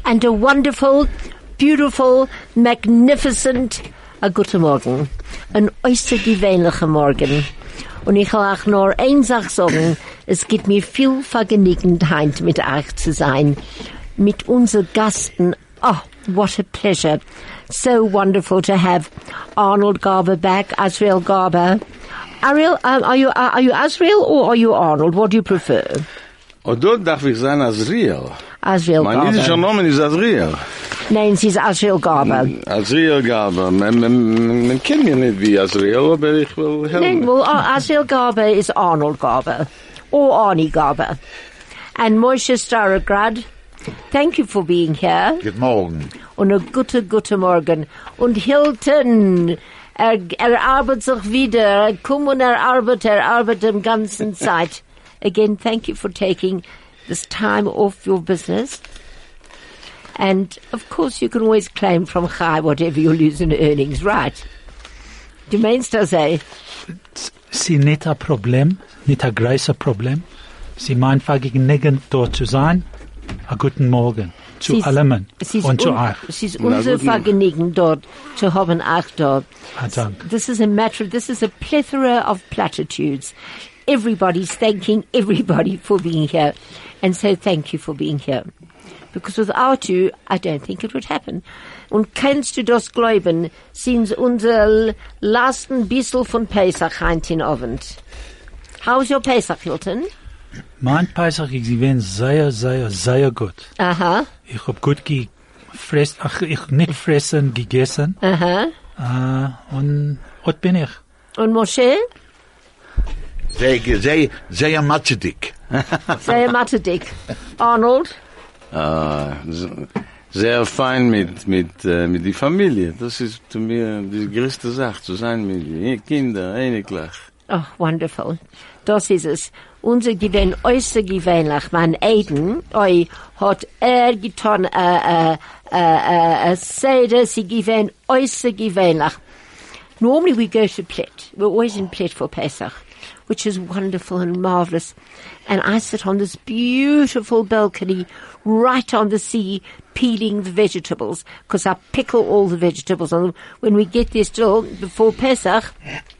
and a wonderful, beautiful, magnificent guten Morgen. Ein äußerst gewöhnlicher Morgen. Und ich will auch nur eine Sache sagen, es gibt mir viel Vergnügenheit mit euch zu sein, mit unseren Gästen. Oh, what a pleasure. So wonderful to have Arnold Garber back, Azriel Garber. Ariel, are you Azriel or are you Arnold? What do you prefer? Dort darf ich sein Azriel. Azriel Garber. Mein jüdischer Name ist Azriel. Nein, sie ist Azriel Garber. Azriel Garber. Man kennt mich nicht wie Azriel, aber ich will helfen. Nein, well, Azriel Garber is Arnold Garber. Or Arnie Garber. And Moshe Starograd, thank you for being here. Good morning. Und ein gute Morgen. Und Hilton, arbeitet sich wieder. Komm und arbeitet im ganzen Zeit. Again, thank you for taking this time off your business. And, of course, you can always claim from Chai whatever you lose in earnings, right? Du meinst das, eh? Sie nicht ein Problem, nicht ein großes Problem. Sie meint vergnügend dort zu sein. A guten Morgen zu allen und zu euch. Es ist unser Vergnügen dort zu haben, auch dort. Danke. This is a plethora of platitudes. Everybody's thanking everybody for being here. And so thank you for being here. Because without you, I don't think it would happen. Und kannst du das glauben, sind unser letzten bissel von Pesach heint in Abend. How's your Pesach, Hilton? Mein Pesach ist gewesen sehr gut. Aha. Ich hab gut gefressen, ich nicht fressen, gegessen. Aha. Und dort bin ich. Und Moshe? Sehr matschedig. Sehr matschedig. Arnold? Sehr fein mit die Familie. Das ist zu mir die größte Sache, zu sein mit den Kindern, einiglich. Oh, wonderful. Das ist es. Unser Gewinn äußerst gewöhnlich. Mein Aiden, hat getan, Seder, sie gewinn äußerst gewöhnlich. Normally we go to Plet. We're always in Plet for Pesach, which is wonderful and marvelous. And I sit on this beautiful balcony right on the sea, peeling the vegetables, because I pickle all the vegetables. And when we get there still, before Pesach,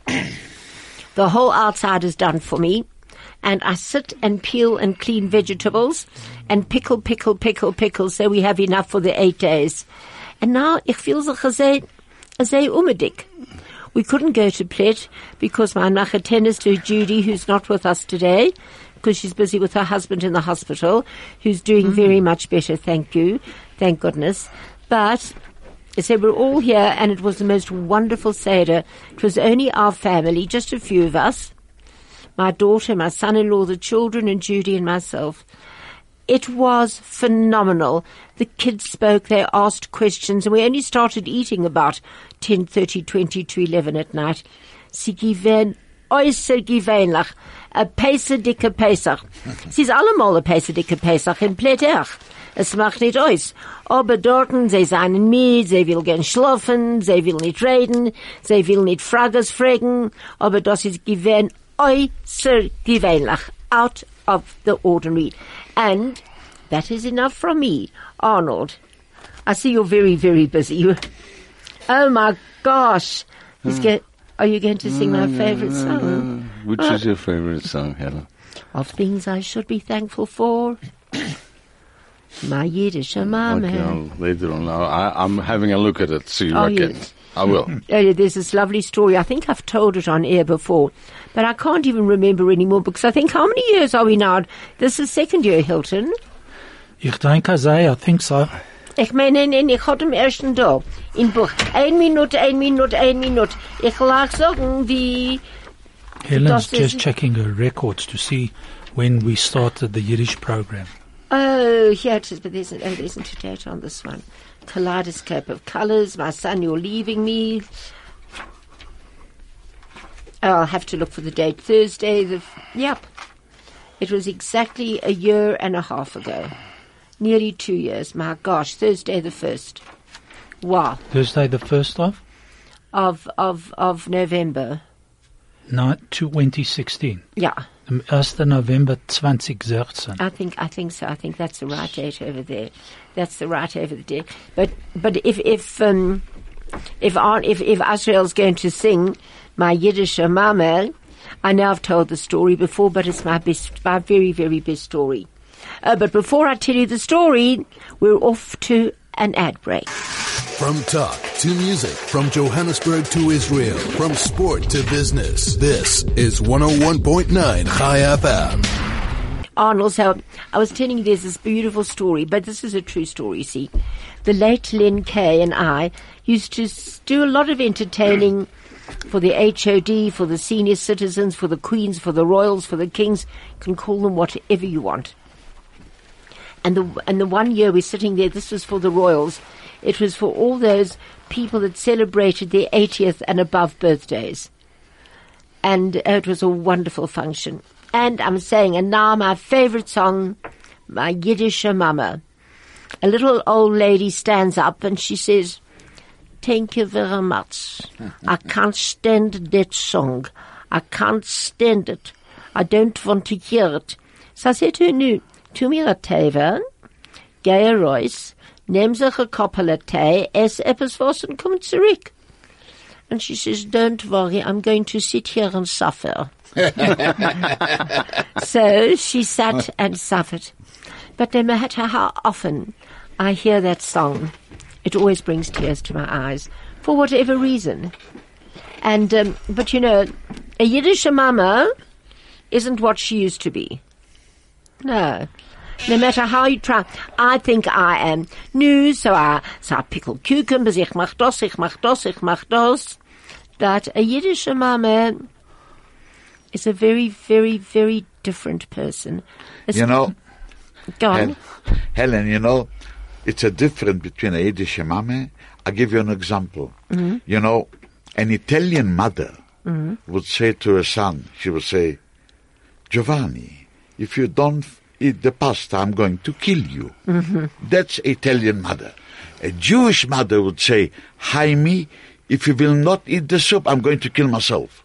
the whole outside is done for me. And I sit and peel and clean vegetables and pickle, so we have enough for the 8 days. And now, ich feel so sehr unbedingt. We couldn't go to Plet because my nachatenis to Judy, who's not with us today, because she's busy with her husband in the hospital, who's doing very much better, thank you, thank goodness. But, so we're all here, and it was the most wonderful Seder. It was only our family, just a few of us, my daughter, my son-in-law, the children, and Judy and myself. It was phenomenal. The kids spoke, they asked questions, and we only started eating about 10:30, 20 to 11 at night. Sie gewähren äußerst gewöhnlich. A dicke Pesach. Sie ist allemal a dicke Pesach in Pletach. Es macht nicht aus. Aber dorten, sie seien mit, sie will gern schlafen, sie will nicht reden, sie will nicht Frages fragen, aber das ist gewähren äußerst gewöhnlich. Out of the ordinary. And that is enough from me. Arnold, I see you're very, very busy. Oh my gosh. Are you going to sing my favorite song? Which is your favorite song, Helen? Of things I should be thankful for. My Yiddish Mama. Okay, later on. I'm having a look at it, so you reckon. Yes. I will. There's this lovely story. I think I've told it on air before, but I can't even remember anymore because I think, how many years are we now? This is second year, Hilton. Ich denke, I think so. Ich meine, ich hatte im ersten Tag in Buch. 1 Minute. Ich lag sagen, wie... Helen's just checking her records to see when we started the Yiddish program. Oh, here it is, but there isn't a date on this one. Kaleidoscope of colours. My son, you're leaving me. I'll have to look for the date. Thursday, yep. It was exactly a year and a half ago. Nearly 2 years. My gosh, Thursday the 1st. Wow. Thursday the 1st of November. No, 2016. Yeah. am 1. November 2016. I think so. I think that's the right date over there. That's the right over there. But if Israel's going to sing my Yiddish Mama, I know I've told the story before, but it's my very, very best story. But before I tell you the story, we're off to an ad break. From talk to music, from Johannesburg to Israel, from sport to business, this is 101.9 Chai FM. Arnold, so I was telling you there's this beautiful story, but this is a true story, see. The late Len Kay and I used to do a lot of entertaining for the HOD, for the senior citizens, for the queens, for the royals, for the kings. You can call them whatever you want. And the 1 year we're sitting there, this was for the royals. It was for all those people that celebrated their 80th and above birthdays. And it was a wonderful function. And I'm saying, and now my favorite song, my Yiddish Mama. A little old lady stands up and she says, "Thank you very much. I can't stand that song. I can't stand it. I don't want to hear it." So I said to her, "No, tu mir a Tee, geh raus, nehm sich a Koppel Tee, ess etwas was und komm zurück." And she says, "Don't worry, I'm going to sit here and suffer." So she sat and suffered. But no matter how often I hear that song, it always brings tears to my eyes, for whatever reason. And, but you know, a Yiddish mama isn't what she used to be. No. No matter how you try. I think I am new, so I pickle cucumbers, ich mach das. But a Yiddish mama is a very, very, very different person. You know, go on. Helen, you know, it's a difference between a Yiddish mama. I'll give you an example. Mm-hmm. You know, an Italian mother would say to her son, she would say, "Giovanni, if you don't eat the pasta, I'm going to kill you." Mm-hmm. That's Italian mother. A Jewish mother would say, "Jaime, if you will not eat the soup, I'm going to kill myself."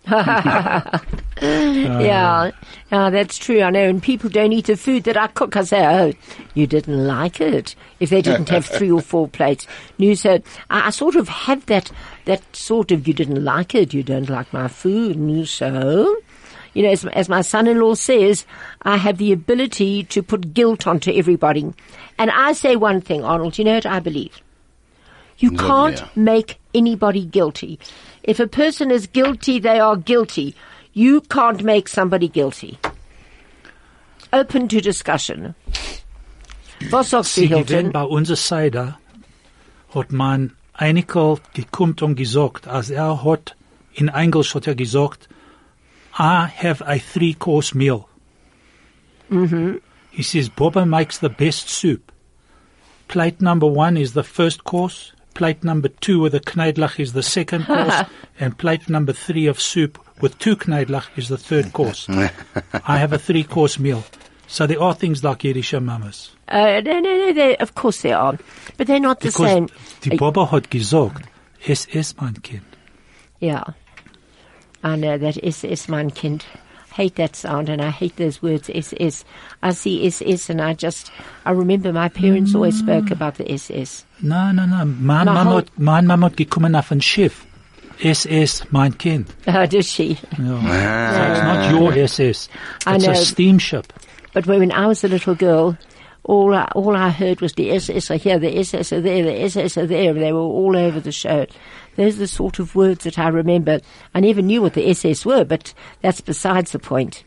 Yeah, that's true. I know. And people don't eat the food that I cook. I say, "Oh, you didn't like it." If they didn't have 3 or 4 plates. No, so I sort of have that sort of, "You didn't like it. You don't like my food." No, so, you know, as my son-in-law says, I have the ability to put guilt onto everybody. And I say one thing, Arnold, you know what I believe? You can't make anybody guilty. If a person is guilty, they are guilty. You can't make somebody guilty. Open to discussion. Was sagst du, Hilton? Bei unserer Seite hat man einiger gekommen und gesagt, als hat in Englisch hat gesagt, "I have a 3-course meal." Mm-hmm. He says, "Baba makes the best soup. Plate number 1 is the first course. Plate number 2 with a kneidlach is the second course. And plate number 3 of soup with 2 kneidlach is the third course." I have a 3-course meal. So there are things like Yiddish mamas. No, of course there are. But they're not the same. Die Baba hat gesagt, "Es ist mein Kind." Yeah. I know that SS, mein Kind. Hate that sound, and I hate those words, SS. I see SS, and I remember my parents always spoke about the SS. No. Mein Mama hat gekommen auf ein Schiff. SS, mein Kind. Oh, does she? Yeah. So it's not your SS. It's a steamship. But when I was a little girl, all I heard was the SS are here, the SS are there, the SS are there. They were all over the show. Those are the sort of words that I remember. I never knew what the SS were, but that's besides the point.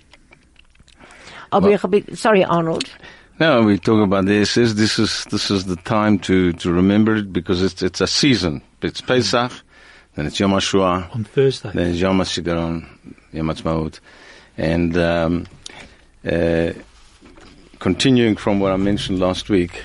Sorry, Arnold. No, we talk about the SS. This is the time to remember it, because it's a season. It's Pesach, then it's Yom HaShoah. On Thursday. Then it's Yom HaZikaron, Yom HaTzmaut. And continuing from what I mentioned last week,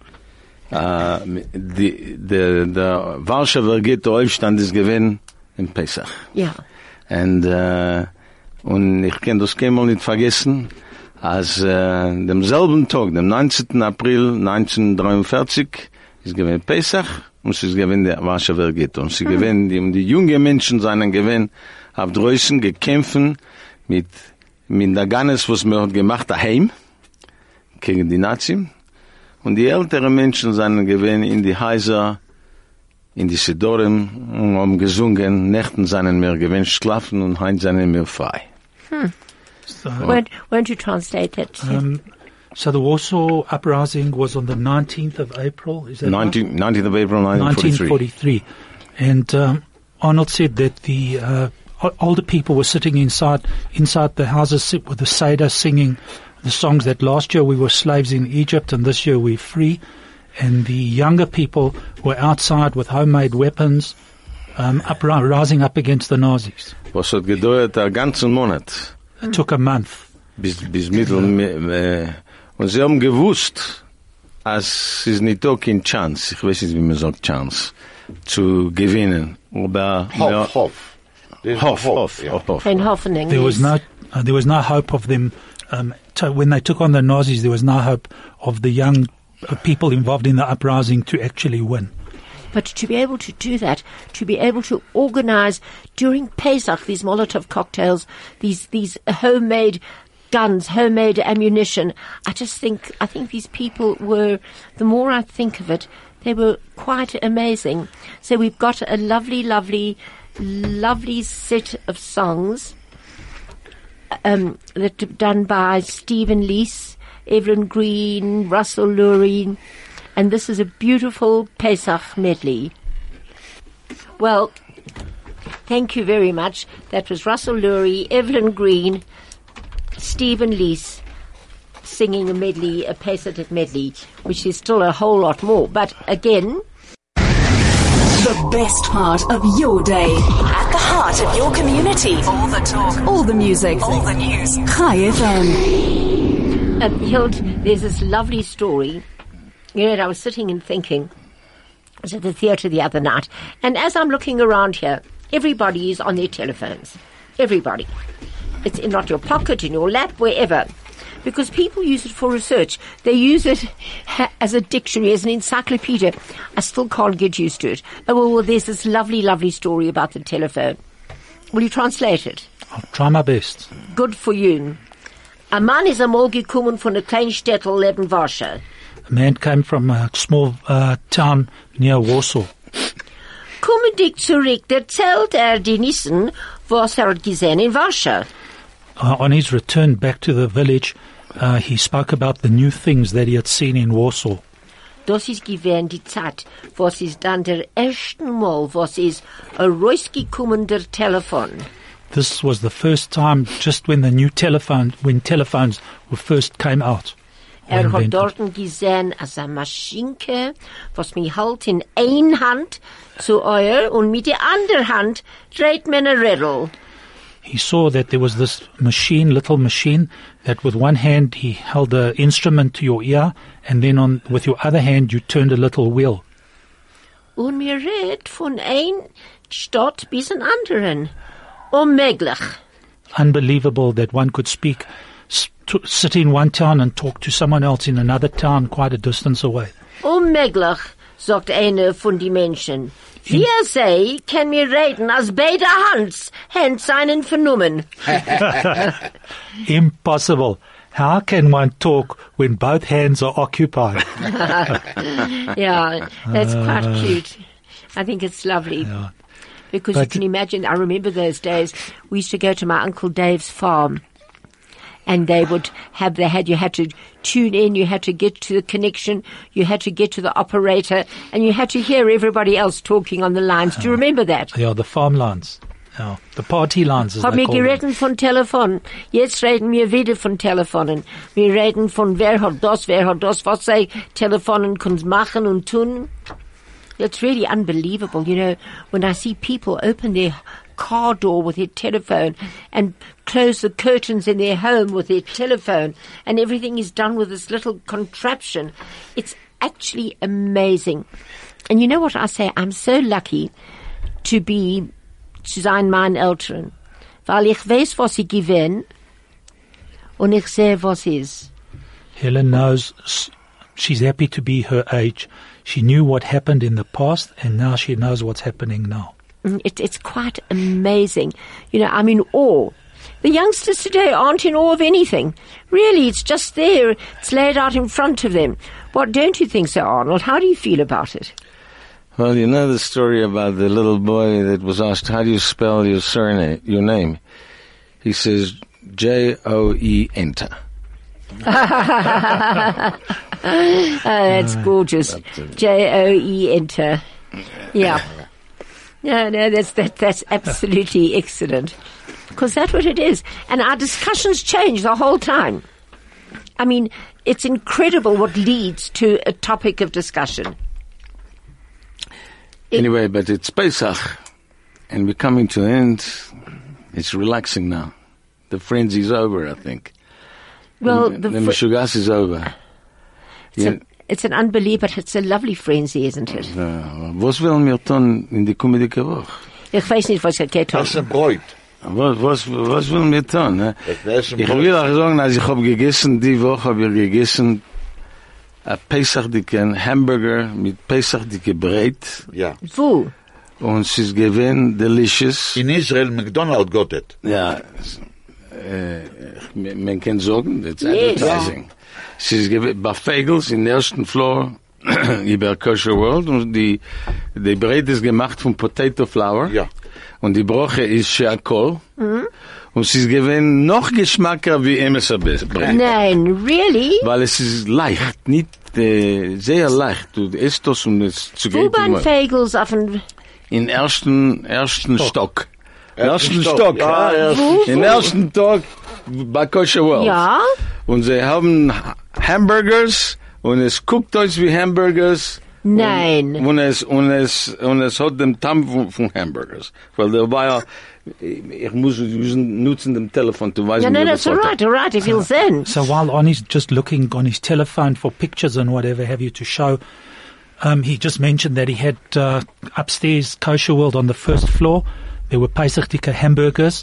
the Warschauer Ghetto-Aufstand ist gewesen in Pesach. Ja. Und ich kann das keinmal nicht vergessen, als demselben Tag, dem 19. April 1943, ist gewesen Pesach, und es ist gewesen der Warschauer Ghetto. Und sie gewesen, die jungen Menschen seien gewesen, auf draußen gekämpfen mit mit der Gannes, was wir hat gemacht daheim, gegen die Nazis. Und die älteren Menschen sind gewesen in die Häuser, in die Sidorim, und haben gesungen, Nächten seien wir gewünscht schlafen und heim seien wir frei. So, Won't you translate that? so the Warsaw Uprising was on the 19th of April, is that right? 19th of April, 1943. 1943. And Arnold said that the older people were sitting inside the houses with the Seder singing the songs that last year we were slaves in Egypt and this year we're free. And the younger people were outside with homemade weapons, rising up against the Nazis. Was hat gedauert einen ganzen Monat. It took a month. Bis Mittel, und sie haben gewusst, als es nicht auch kein Chance, ich weiß nicht, wie man sagt Chance, zu gewinnen. Aber Hof. Hof. Ein Hoffnung. There was no hope of them, when they took on the Nazis, there was no hope of the young people involved in the uprising to actually win. But to be able to do that, to be able to organize during Pesach these Molotov cocktails, these homemade guns, homemade ammunition, I think these people were, the more I think of it, they were quite amazing. So we've got a lovely, lovely, lovely set of songs that are done by Stephen Lees, Evelyn Green, Russell Lurie, and this is a beautiful Pesach medley. Well, thank you very much. That was Russell Lurie, Evelyn Green, Stephen Lees singing a medley, a Pesach medley, which is still a whole lot more. But again, the best part of your day. At the heart of your community. All the talk. All the music. All the news. Chai FM. Hild, there's this lovely story. You know, I was sitting and thinking, I was at the theatre the other night, and as I'm looking around here, everybody is on their telephones. Everybody. It's in not your pocket, in your lap, wherever. Because people use it for research. They use it as a dictionary, as an encyclopedia. I still can't get used to it. Oh, well, there's this lovely, lovely story about the telephone. Will you translate it? I'll try my best. Good for you. A man is einmal gekommen von einer kleinen Städtel neben Warschau. A man came from a small town near Warsaw. Komme dich zurück, erzählt die Nissen, was hat gesehen in Warschau. On his return back to the village, he spoke about the new things that he had seen in Warsaw. Das ist gewesen die Zeit, was ist dann der ersten Mal, was ist rausgekommen der Telefon. This was the first time, just when when telephones first came out. Hat invented. dort gesehen, als eine Maschinke, was mir halt in ein Hand zu euer und mit der anderen Hand dreht man ein Rädel. He saw that there was this little machine, that with one hand he held the instrument to your ear, and then with your other hand you turned a little wheel. Und mir redet von ein Stadt bis an anderen. Unmöglich. Unbelievable that one could sit in one town and talk to someone else in another town quite a distance away. Unmöglich, sagt einer von die Menschen. Wie sei, kann mir reden, als beide Hand seinen vernommen. Impossible. How can one talk when both hands are occupied? Yeah, that's quite cute. I think it's lovely. Yeah. Because you can imagine, I remember those days, we used to go to my Uncle Dave's farm. And they would you had to tune in, you had to get to the connection, you had to get to the operator, and you had to hear everybody else talking on the lines. Do you remember that? Yeah, the farm lines. Yeah, the party lines, as Hab they mir call them. gereden von Telefon. Jetzt reden wir wieder von Telefonen. Wir reden von wer hat das, was sie Telefonen können machen und tun. It's really unbelievable, you know, when I see people open their car door with their telephone and close the curtains in their home with their telephone, and everything is done with this little contraption. It's actually amazing. And you know what I say? I'm so lucky zu sein mein Eltern, weil ich weiß, was ich gewinn und ich sehe, was ist. Helen knows she's happy to be her age. She knew what happened in the past, and now she knows what's happening now. It's quite amazing. You know, I'm in awe The youngsters today aren't in awe of anything. Really, it's just there. It's laid out in front of them. What don't you think, Sir Arnold? How do you feel about it? Well, you know the story about the little boy that was asked, how do you spell your surname, your name? He says, J-O-E, enter. That's gorgeous. J-O-E, enter. Yeah. No, that's absolutely excellent. Because that's what it is. And our discussions change the whole time. I mean, it's incredible what leads to a topic of discussion. Anyway, but it's Pesach, and we're coming to the end. It's relaxing now. The frenzy's over, I think. Well, the Meshugas is over. It's an unbelievable, it's a lovely frenzy, isn't it? Was will mir tun in die kommende Woche? Ich weiß nicht, was geht Das ist ein Bräut. Was will mir tun? Ne? Das ist ein Ich Bräut. will auch sagen, als ich habe gegessen, die Woche habe ich gegessen, ein Pesach-dicke Hamburger mit Pesach-dicke Breit. Ja. Wo? Und es ist gewesen delicious. In Israel, McDonald's got it. Ja, man kann sagen, that's advertising. Es ist bei Fagels in der ersten Floor über Kosher World und die Breit ist gemacht von Potato Flour. Ja. Und die Broche ist Sheakol. Und es ist gewesen noch geschmacker wie Emerson Breit. Nein, really? Weil es ist leicht, nicht sehr leicht. Du isst das und es zu Wo waren Fagels auf dem... in ersten Stock. Ersten Stock, Stock. ja, Im ersten Stock bei Kosher World. Ja? Und sie haben Hamburgers und es guckt euch wie Hamburgers. Nein. Und es hat den Tamm von Hamburgers. Weil der war ja, wir müssen nutzen dem Telefon, du weißt No, nicht, that's all right, if you'll send. So while Arnie's just looking on his telephone for pictures and whatever have you to show, he just mentioned that he had upstairs Kosher World on the first floor. There were Pesach Dika hamburgers.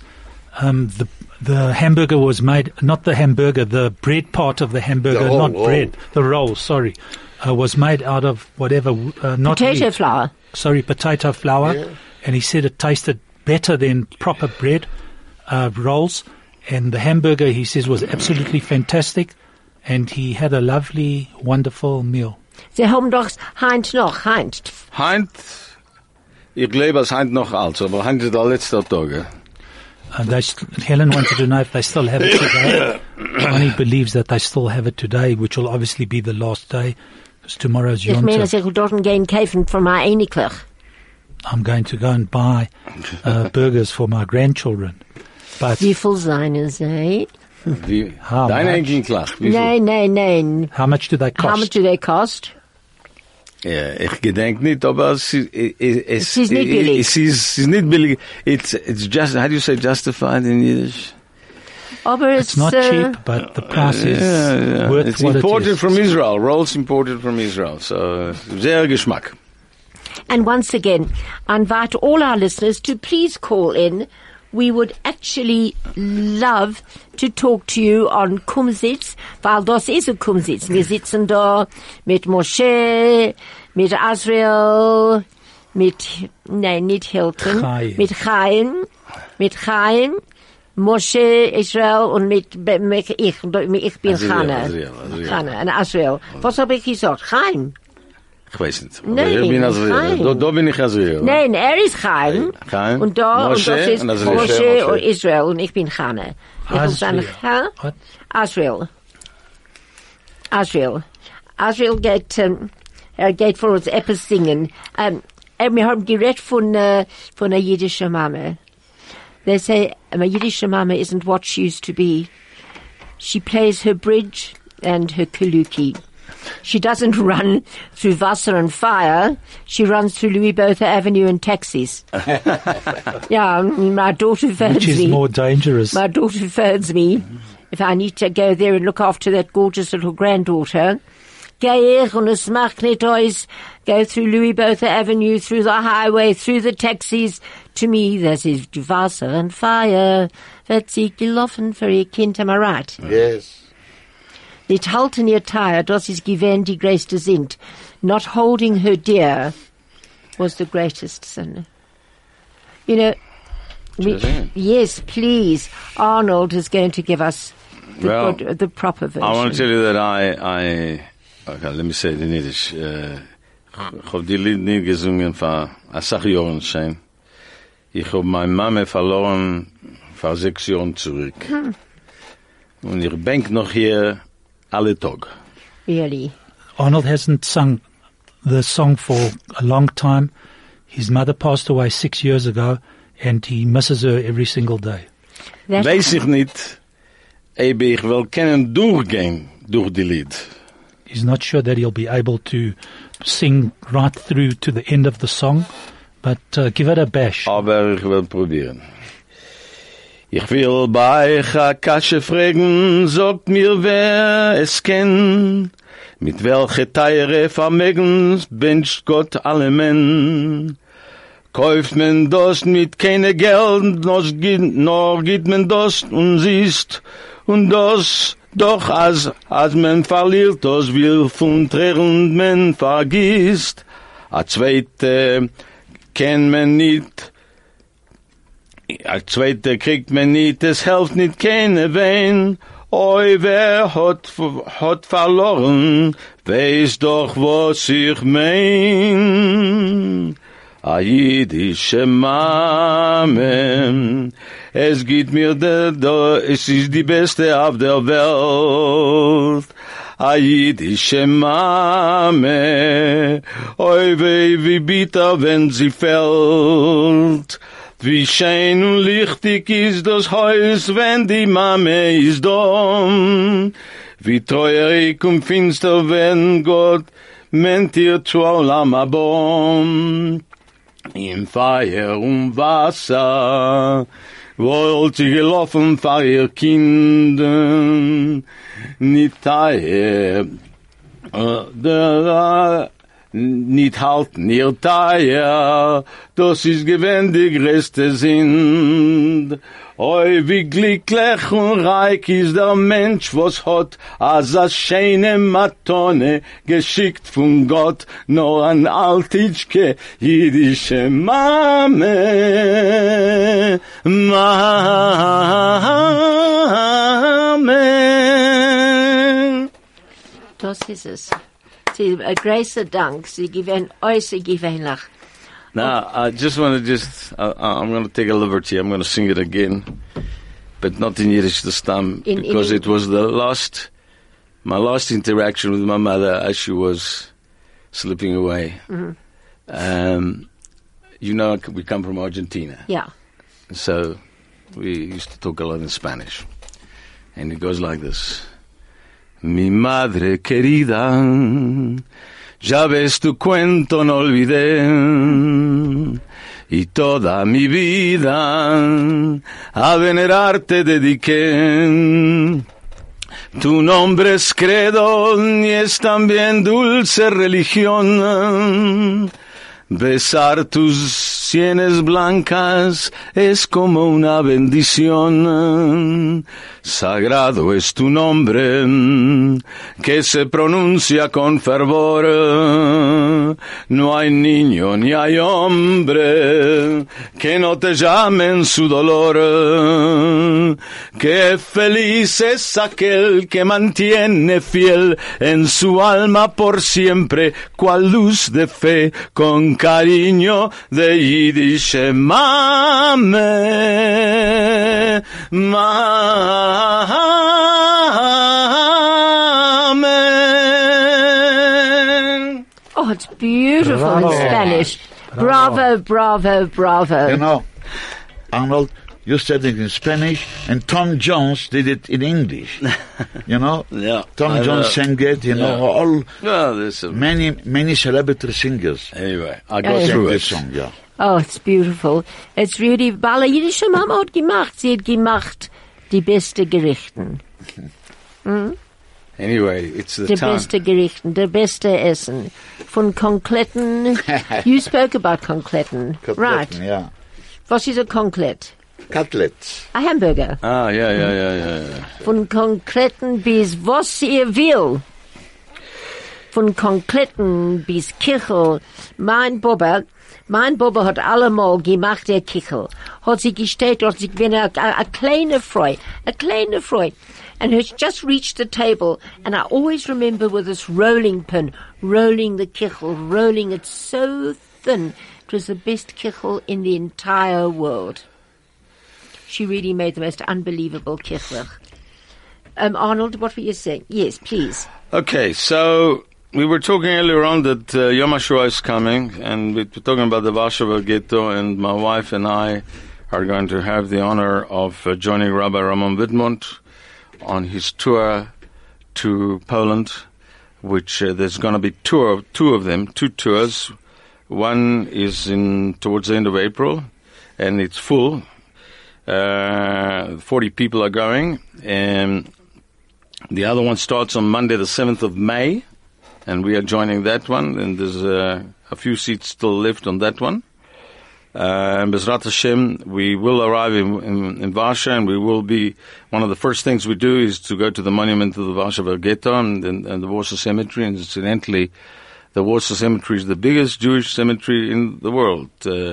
The hamburger was made, not the hamburger, the bread part of the hamburger, The not roll. bread. The roll, sorry, was made out of whatever, not Potato wheat. flour. Sorry, potato flour. Yeah. And he said it tasted better than proper bread rolls. And the hamburger, he says, was absolutely fantastic. And he had a lovely, wonderful meal. Sie haben doch Heint noch, Heint. Heint, ich glaube, es Heint noch alt, aber Heint ist der letzte Tag. Helen wanted to know if they still have it today. Arnie believes that they still have it today, which will obviously be the last day, because tomorrow's Ich Yom meine, Tov. ich will dort gehen kaufen von meiner Einiglich. I'm going to go and buy burgers for my grandchildren. But Wie viel seien sie? Wie, How deine much? Enkelklach, wie viel? Nein. how much do they cost? How much do they cost? Ja, ich gedenk nicht, aber es ist nicht billig. Es ist nicht billig. It's just, how do you say justified in Yiddish? Aber It's not cheap, but the price is worth It's what imported it is. from Israel. Rolls imported from Israel. So, sehr Geschmack. And once again, I invite all our listeners to please call in. We would actually love to talk to you on Kumsitz, weil das ist ein Kumsitz. Wir sitzen da mit Moshe, mit Azrael, nicht Hilton, Chaim. mit Chaim, Moshe, Israel und mit ich bin Chana. Azriel. Chana und Azrael. Was habe ich gesagt? Chaim? Ich weiß nicht. Aber Nein, ich bin Azriel. Chaim. Da bin ich Azriel. Nein, ist Chaim. Chaim. Und da, Moshe und das ist und Azriel. Moshe und Israel und ich bin Chana. Ich will sagen, What? Azrael geht für uns etwas singen. Wir haben geredet von einer jüdischen Mama. They say a Yiddish mama isn't what she used to be. She plays her bridge and her kaluki. She doesn't run through Wasser and fire. She runs through Louis Botha Avenue and taxis. Yeah, my daughter phones Which is me. more dangerous? My daughter phones me if I need to go there and look after that gorgeous little granddaughter. Geh ich und es macht nicht aus. Go through Louis Botha Avenue, through the highway, through the taxis. To me, das ist Wasser and fire. Wird sie gelaufen für ihr Kind, am I right? Yes. Nicht halten ihr Tire, das ist gewähnt die größte sind. Not holding her dear was the greatest sin. You know, Yes, please. Arnold is going to give us the proper version. I want to tell you that okay, let me say it in Yiddish. Ich hab die Lied nie gesungen vor Asach Jahren schon. Ich hab meine Mama verloren vor 6 Jahren zurück. Und ich bank noch hier alle Tag. Really? Arnold hasn't sung the song for a long time. His mother passed away 6 years ago, and he misses her every single day. Weiß ich nicht, ob ich will können durchgehen durch die Lied. He's not sure that he'll be able to sing right through to the end of the song, but give it a bash. Aber ich will probieren. Ich will bei euch a Kasche fragen, sagt mir wer es kennt, mit welche teure Vermögens wünscht Gott alle Men. Kauft man das mit keine Geld, noch gibt man das und siehst, und das doch als man verliert, das will von Tränen man vergisst. A zweite kennt man nicht, a zweite kriegt man nicht, es hilft nicht keine Wein. Oi, wer hat verloren, weiß doch, was ich mein. A jüdische Mame, es geht mir es ist die beste auf der Welt. A jüdische Mame, oi weh, wie bitter, wenn sie fällt. Wie schön und lichtig ist das Haus, wenn die Mame ist dumm. Wie treurig und finster, wenn Gott meint ihr zu Olam Abom. Im Feuer und Wasser wollt sie gelaufen vor ihr Kinder, nicht nicht halten ihr Teier, das ist gewähnt die größte Sinn. Oi, wie glücklich und reich ist der Mensch, was hat als a schöne Matone geschickt von Gott, nur an altitschke jüdische Mame, Mame. Das ist es. Sie, großer Dank. Sie gewähnen äußerst gewöhnlich. Now, I just want to I'm going to take a liberty. I'm going to sing it again, but not in Yiddish this time, because it was my last interaction with my mother as she was slipping away. Mm-hmm. You know, we come from Argentina. Yeah. So we used to talk a lot in Spanish. And it goes like this. Mi madre querida, ya ves tu cuento no olvidé, y toda mi vida a venerarte dediqué. Tu nombre es credo y es también dulce religión. Besar tus sienes blancas es como una bendición. Sagrado es tu nombre, que se pronuncia con fervor. No hay niño ni hay hombre que no te llame en su dolor. Qué feliz es aquel que mantiene fiel en su alma por siempre, cual luz de fe, con cariño de Yiddish Mame, Amen. Oh, it's beautiful in Spanish. Bravo, bravo, bravo. You know, Arnold, you said it in Spanish, and Tom Jones did it in English. You know? Yeah. Tom Jones sang it, you know, all, there's many celebrity singers. Anyway, I got through this it. song, yeah. Oh, it's beautiful. It's really, Bala jüdische Mama hat gemacht. Sie hat gemacht die beste Gerichten. Anyway, it's the Die time. beste Gerichten, der beste Essen. Von Concletten. You spoke about Concletten. Right. Yeah. Was ist ein Conclet? Cutlets. Ein Hamburger. Ah, yeah. Von Concletten bis was ihr will. von Konkreten bis Kichel. Mein Baba hat allemal gemacht, der Kichel. Hat sie gestellt, hat sie gewinnt a kleine Freude. And he just reached the table, and I always remember with this rolling pin, rolling the kichel, rolling it so thin. It was the best kichel in the entire world. She really made the most unbelievable kichel. Arnold, what were you saying? Yes, please. Okay, so we were talking earlier on that Yom HaShoah is coming, and we were talking about the Warsaw Ghetto, and my wife and I are going to have the honor of joining Rabbi Ramon Widmont on his tour to Poland, which there's going to be two tours. One is towards the end of April, and it's full. 40 people are going, and the other one starts on Monday, the 7th of May, and we are joining that one, and there's a few seats still left on that one. And Bezrat Hashem, we will arrive in Warsaw, and we will be, one of the first things we do is to go to the monument to the Warsaw Ghetto and the Warsaw Cemetery, and incidentally, the Warsaw Cemetery is the biggest Jewish cemetery in the world,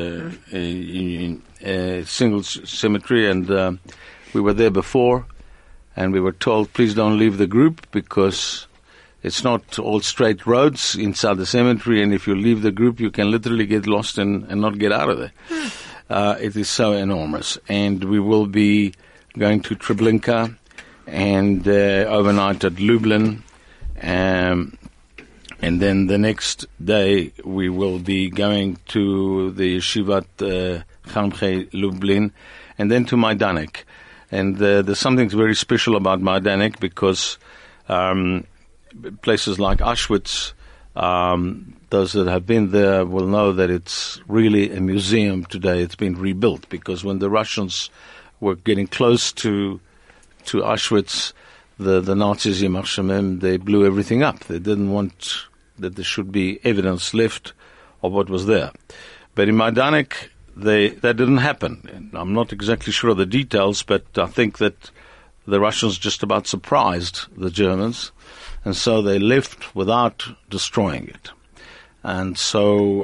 a single cemetery, and we were there before, and we were told, please don't leave the group, because it's not all straight roads inside the cemetery, and if you leave the group, you can literally get lost and not get out of there. It is so enormous. And we will be going to Treblinka and overnight at Lublin. And then the next day, we will be going to the Yeshivat Chamche Lublin, and then to Majdanek. And there's something very special about Majdanek, because places like Auschwitz, those that have been there will know that it's really a museum today. It's been rebuilt, because when the Russians were getting close to Auschwitz, the Nazis, Yimach Shemem, they blew everything up. They didn't want that there should be evidence left of what was there. But in Majdanek, that didn't happen. And I'm not exactly sure of the details, but I think that the Russians just about surprised the Germans, and so they left without destroying it. And so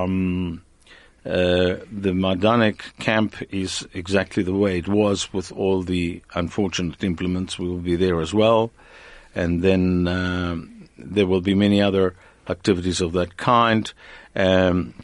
the Majdanek camp is exactly the way it was, with all the unfortunate implements. We will be there as well. And then there will be many other activities of that kind. And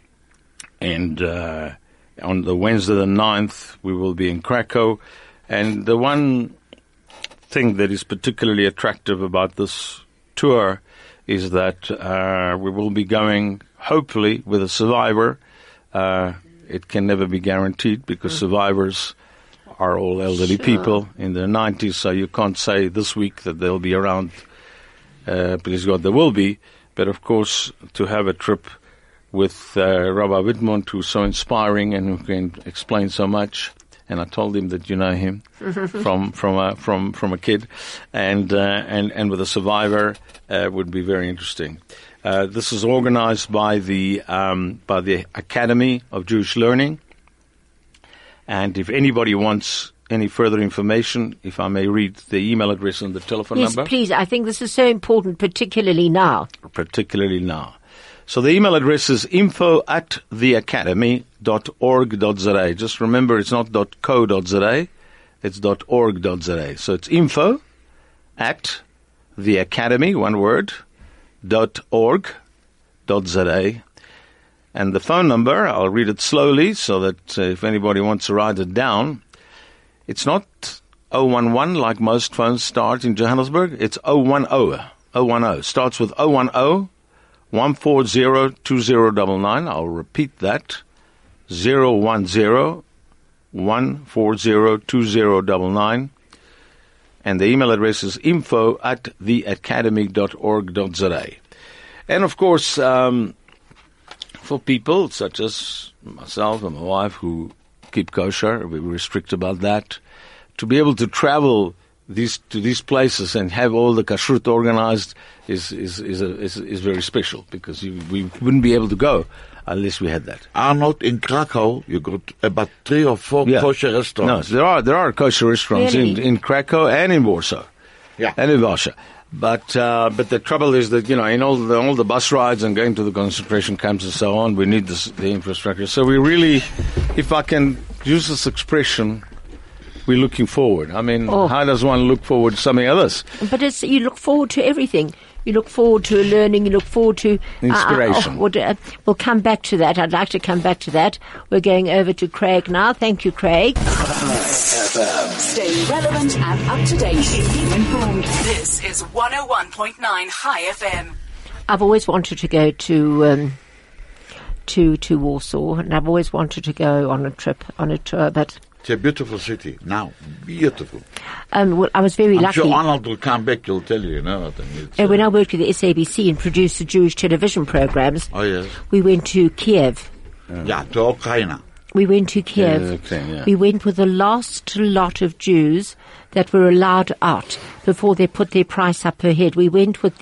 on the Wednesday the 9th, we will be in Krakow. And the one thing that is particularly attractive about this tour is that we will be going, hopefully, with a survivor. It can never be guaranteed, because survivors are all elderly people in their 90s, so you can't say this week that they'll be around. Please God, there will be. But of course, to have a trip with Rabbi Widmont, who's so inspiring and who can explain so much. And I told him that you know him from a kid, and with a survivor would be very interesting. This is organized by the Academy of Jewish Learning, and if anybody wants any further information, if I may read the email address and the telephone number. Yes, please. I think this is so important, particularly now. So the email address is info@theacademy.org.za. Just remember, it's not .co.za, it's .org.za. So it's info@theacademy, one word, .org.za. And the phone number, I'll read it slowly so that if anybody wants to write it down, it's not 011 like most phones start in Johannesburg. It's 010. 010. Starts with 010. 140-2099. I'll repeat that. 010-140-2099. And the email address is info@theacademy.org.za. And of course, for people such as myself and my wife who keep kosher, we're strict about that, to be able to travel to these places and have all the kashrut organized is very special, because we wouldn't be able to go unless we had that. Arnold, in Krakow, you got about 3 or 4 kosher restaurants. No, there are kosher restaurants really? in Krakow and in Warsaw. Yeah. And in Warsaw. But the trouble is that, in all the bus rides and going to the concentration camps and so on, we need the infrastructure. So we really, if I can use this expression, we're looking forward. I mean, how does one look forward to something else? But you look forward to everything. You look forward to learning. You look forward to inspiration. We'll come back to that. I'd like to come back to that. We're going over to Craig now. Thank you, Craig. Stay relevant and up to date. Keep informed. This is 101.9 High FM. I've always wanted to go to Warsaw, and I've always wanted to go on a tour, but It's a beautiful city now, beautiful. well, I was very I'm lucky. sure Arnold will come back. He'll tell you, When I worked with the SABC and produced the Jewish television programs, Oh yes, we went to Kiev. yeah, to Ukraine. We went to Kiev. Yeah. We went with the last lot of Jews that were allowed out before they put their price up per head. We went with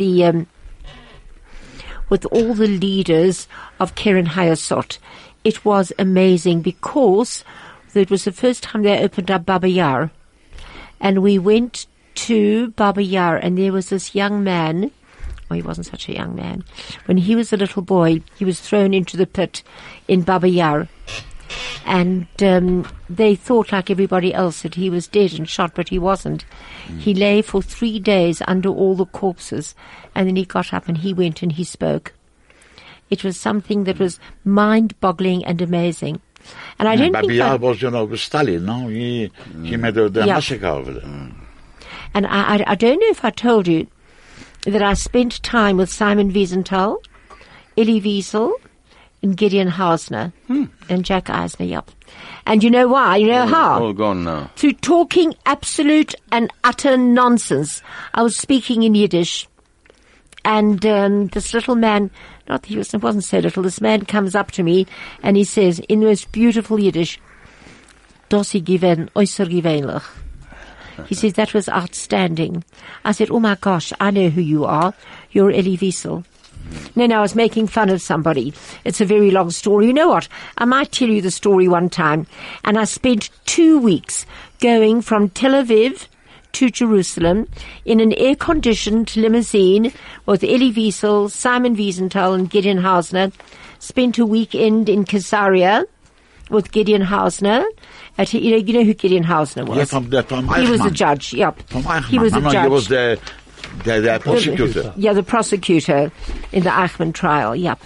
with all the leaders of Keren Hayasot. It was amazing because it was the first time they opened up Baba Yar. And we went to Baba Yar, and there was this young man. Well, he wasn't such a young man. When he was a little boy, he was thrown into the pit in Baba Yar. And they thought, like everybody else, that he was dead and shot, but he wasn't. He lay for 3 days under all the corpses, and then he got up and he went and he spoke. It was something that was mind-boggling and amazing. And I don't think Babi was, with Stalin, no? He made the massacre over there. And I don't know if I told you that I spent time with Simon Wiesenthal, Elie Wiesel, and Gideon Hausner, and Jack Eisner, yep. And you know why? You know how? All gone now. Through talking absolute and utter nonsense. I was speaking in Yiddish, and this little man, it wasn't so little, this man comes up to me, and he says, in the most beautiful Yiddish, "Dossi given, äußer gewöhnlich." He says, that was outstanding. I said, oh my gosh, I know who you are. You're Elie Wiesel. No, I was making fun of somebody. It's a very long story. You know what? I might tell you the story one time. And I spent 2 weeks going from Tel Aviv to Jerusalem in an air-conditioned limousine with Elie Wiesel, Simon Wiesenthal, and Gideon Hausner. Spent a weekend in Caesarea with Gideon Hausner. You know who Gideon Hausner was? Yeah, from he was the Eichmann. judge, yep. From Eichmann. He was a judge. He was the prosecutor. Yeah, the prosecutor in the Eichmann trial, yep.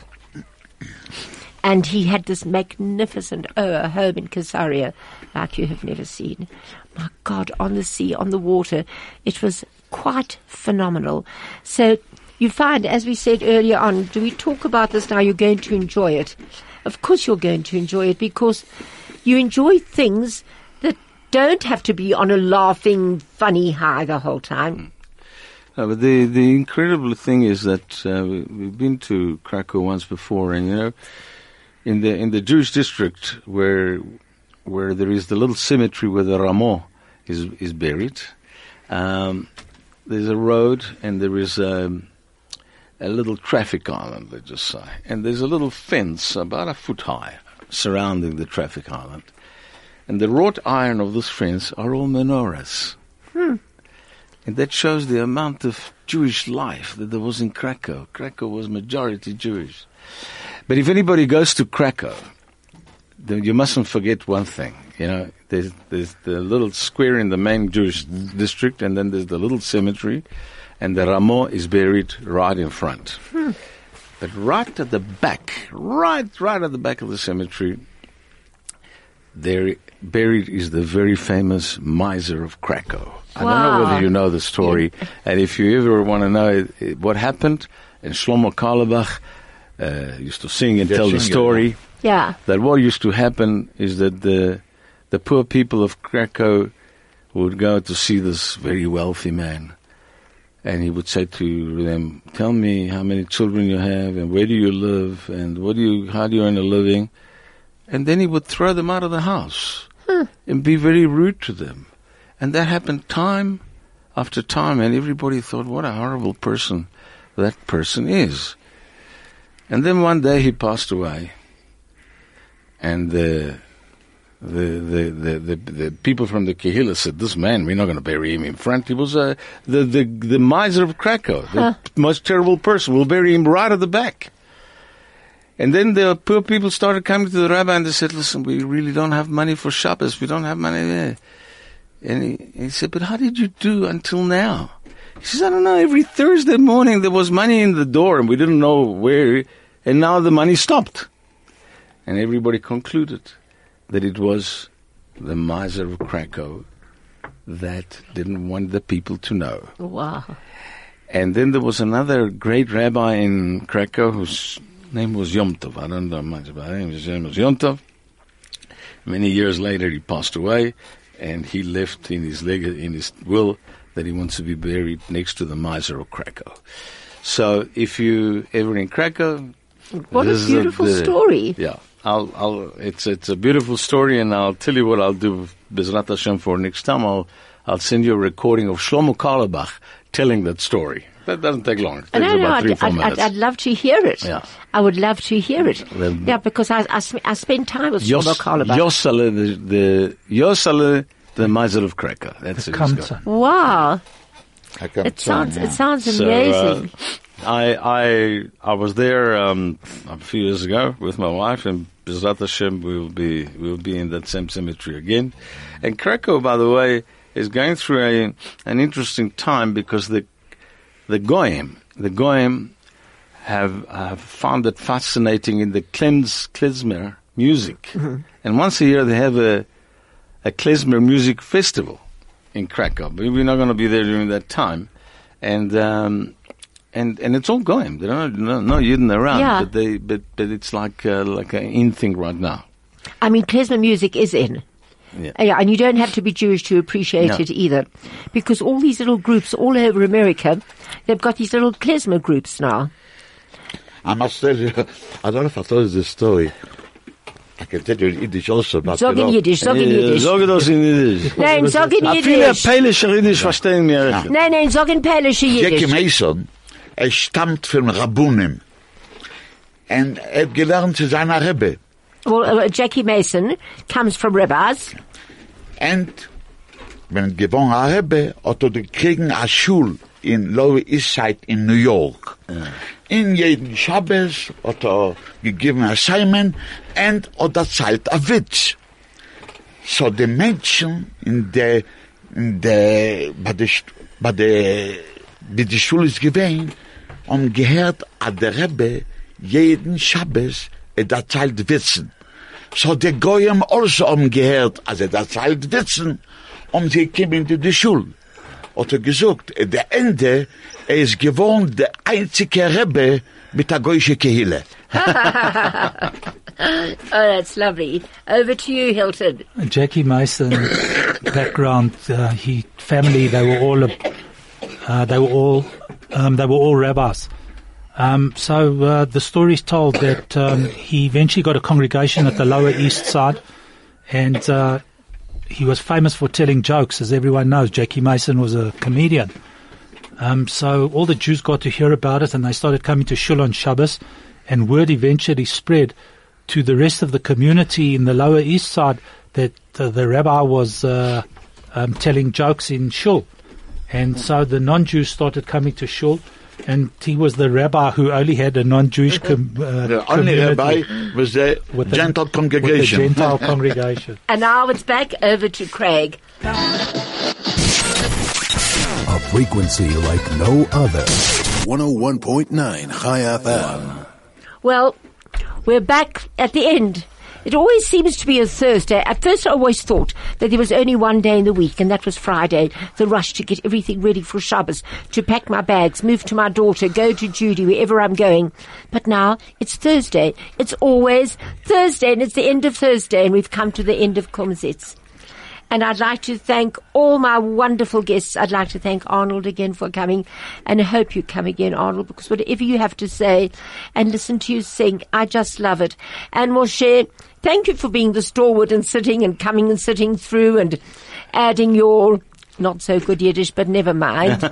And he had this magnificent home in Caesarea like you have never seen. My God, on the sea, on the water. It was quite phenomenal. So you find, as we said earlier on, do we talk about this now? You're going to enjoy it. Of course you're going to enjoy it because you enjoy things that don't have to be on a laughing, funny high the whole time. But the incredible thing is that we've been to Krakow once before, and in the Jewish district where there is the little cemetery where the Ramo is buried, there's a road and there is a little traffic island, let's just say, and there's a little fence about a foot high surrounding the traffic island, and the wrought iron of this fence are all menorahs. And that shows the amount of Jewish life that there was in Krakow. Krakow was majority Jewish. But if anybody goes to Krakow, then you mustn't forget one thing. There's the little square in the main Jewish district, and then there's the little cemetery, and the Ramo is buried right in front. But right at the back, right at the back of the cemetery, there buried is the very famous miser of Krakow. I don't know whether you know the story, and if you ever want to know what happened, and Shlomo Carlebach used to sing and tell the story. Yeah. That what used to happen is that the poor people of Krakow would go to see this very wealthy man, and he would say to them, "Tell me how many children you have, and where do you live, and how do you earn a living?" And then he would throw them out of the house and be very rude to them. And that happened time after time, and everybody thought, what a horrible person that person is. And then one day he passed away, and the the people from the Kehillah said, this man, we're not going to bury him in front. He was the miser of Krakow, the most terrible person. We'll bury him right at the back. And then the poor people started coming to the rabbi and they said, listen, we really don't have money for Shabbos. We don't have money there. And he said, but how did you do until now? He says, I don't know. Every Thursday morning there was money in the door and we didn't know where. And now the money stopped. And everybody concluded that it was the miser of Krakow that didn't want the people to know. Wow. And then there was another great rabbi in Krakow whose name was Yom Tov. I don't know much about him. His name was Yom Tov. Many years later, he passed away, and he left in his will that he wants to be buried next to the miser of Krakow. So, if you ever in Krakow, what a beautiful story! Yeah, it's a beautiful story, and I'll tell you what I'll do, Bezrat Hashem, for next time. I'll send you a recording of Shlomo Carlebach telling that story. That doesn't take long. It takes about 3-4 minutes. I'd love to hear it. Yeah. I would love to hear it. Yeah, because I spent time with Shlomo Carlebach. Yosale, the miser of Krakow. That's it. Wow. It sounds amazing. So, I was there a few years ago with my wife, and Bezrat Hashem we'll be in that same cemetery again. And Krakow, by the way, is going through an interesting time because the Goyim have found it fascinating in the klezmer music. Mm-hmm. And once a year they have a klezmer music festival in Krakow. But we're not going to be there during that time. And it's all Goyim. There are no Yidden around, but it's like an in thing right now. I mean, klezmer music is in. Yeah, and you don't have to be Jewish to appreciate it either. Because all these little groups all over America, they've got these little klezmer groups now. I must tell you, I don't know if I told you this story. I can tell you in Yiddish also, but Sag in Yiddish. Sag das in Yiddish. Nein, sag in Yiddish. Viele Pälische Yiddish verstehen mir. Nein, sag in Pälische Yiddish. Jackie Mason, stammt von Rabbunim. Und hat gelernt zu seiner Rebbe. Well, Jackie Mason comes from rabbis. And when gewonnen a Rebbe, hat gekriegen a Schul in Lower East Side in New York. In jeden Shabbos hat gegeben a Simon and hat erzählt a Witz. So die Menschen wie die Schule ist gewesen, haben gehört, a der Rebbe jeden Shabbos erzählt Witzen. So die Goyim also haben gehört, als erzählt Witzen, sie kommen in die Schule. Hat gesagt, at der Ende, ist gewohnt der einzige Rebbe mit der goyische Kehille. Oh, that's lovely. Over to you, Hilton. Jackie Mason background, family, they were all rabbis. So the story is told that he eventually got a congregation at the Lower East Side, and he was famous for telling jokes, as everyone knows. Jackie Mason was a comedian. So all the Jews got to hear about it, and they started coming to Shul on Shabbos, and word eventually spread to the rest of the community in the Lower East Side that the rabbi was telling jokes in Shul. And so the non-Jews started coming to Shul, and he was the rabbi who only had a non-Jewish the only rabbi was the Gentile congregation. With the Gentile congregation. And now it's back over to Craig. A frequency like no other. 101.9 Chai FM. Well, we're back at the end. It always seems to be a Thursday. At first I always thought that there was only one day in the week, and that was Friday, the rush to get everything ready for Shabbos, to pack my bags, move to my daughter, go to Judy, wherever I'm going. But now it's Thursday. It's always Thursday, and it's the end of Thursday, and we've come to the end of Kumsitz. And I'd like to thank all my wonderful guests. I'd like to thank Arnold again for coming, and I hope you come again, Arnold, because whatever you have to say and listen to you sing, I just love it. And Moshe, thank you for being the stalwart and sitting and coming and sitting through and adding your not so good Yiddish, but never mind.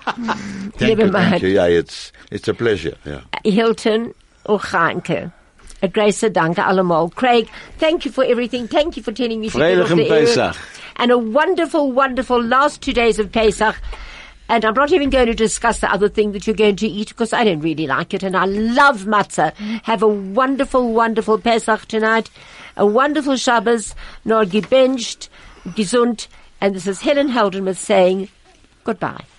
Thank you. Yeah, it's a pleasure. Yeah. Hilton or Chaimke. A grace danke allemal. Craig, thank you for everything. Thank you for telling me to get off Freilichen the air. Pesach. And a wonderful, wonderful last 2 days of Pesach. And I'm not even going to discuss the other thing that you're going to eat because I don't really like it. And I love matzah. Have a wonderful, wonderful Pesach tonight. A wonderful Shabbos. Nor gebenched, gesund. And this is Helen Heldenmuth saying goodbye.